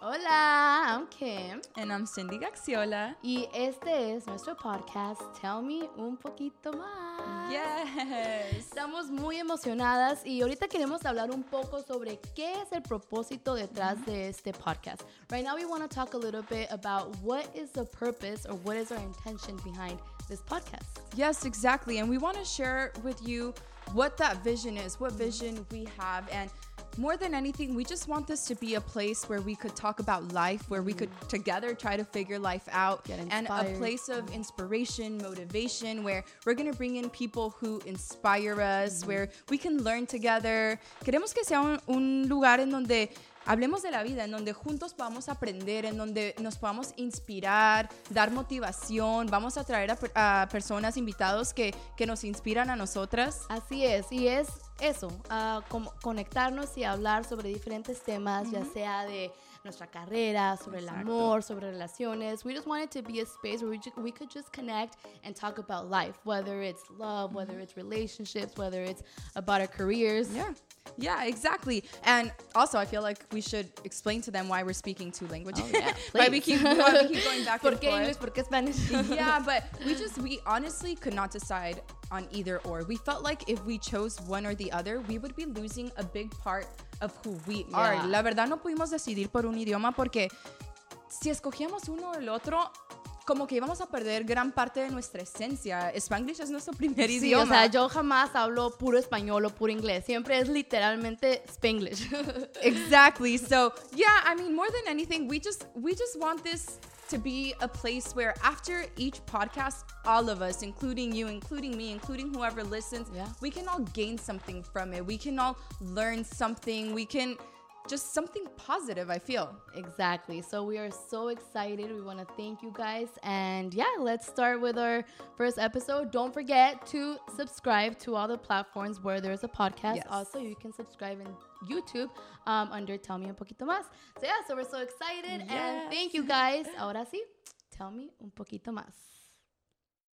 Hola, I'm Kim. And I'm Cindy Gaxiola. Y este es nuestro podcast, Tell Me Un Poquito Más. Yes. Estamos muy emocionadas y ahorita queremos hablar un poco sobre qué es el propósito detrás de este podcast. Right now we want to talk a little bit about what is the purpose or what is our intention behind this podcast. Yes, exactly. And we want to share with you what that vision is, what vision we have. And more than anything, we just want this to be a place where we could talk about life, where we could together try to figure life out, and a place of inspiration, motivation, where we're going to bring in people who inspire us, where we can learn together. Queremos que sea un lugar en donde hablemos de la vida, en donde juntos podamos aprender, en donde nos podamos inspirar, dar motivación. Vamos a traer a personas, invitados que nos inspiran a nosotras. Así es, y es eso, como conectarnos y hablar sobre diferentes temas, ya sea de nuestra carrera, sobre el amor, sobre relaciones. We just want it to be a space where we could just connect and talk about life, whether it's love, whether it's relationships, whether it's about our careers. Yeah, exactly. And also, I feel like we should explain to them why we're speaking two languages. Oh, yeah, why we keep going back and forth. ¿Por qué English? ¿Por qué Spanish? Yeah, but we honestly could not decide on either or. We felt like if we chose one or the other, we would be losing a big part of who we are. La verdad, no pudimos decidir por un idioma porque si escogíamos uno o el otro, como que íbamos a perder gran parte de nuestra esencia. Spanglish es nuestro primer idioma. O sea, yo jamás hablo puro español o puro inglés. Siempre es literalmente Spanglish. Exactly. So, yeah, I mean, more than anything, we just want this to be a place where after each podcast, all of us, including you, including me, including whoever listens, we can all gain something from it. We can all learn something. We can just something positive, I feel. Exactly. So we are so excited. We want to thank you guys. And yeah, let's start with our first episode. Don't forget to subscribe to all the platforms where there's a podcast. Yes. Also, you can subscribe in YouTube under Tell Me Un Poquito Más. So yeah, so we're so excited. Yes. And thank you guys. Ahora sí, tell me un poquito más.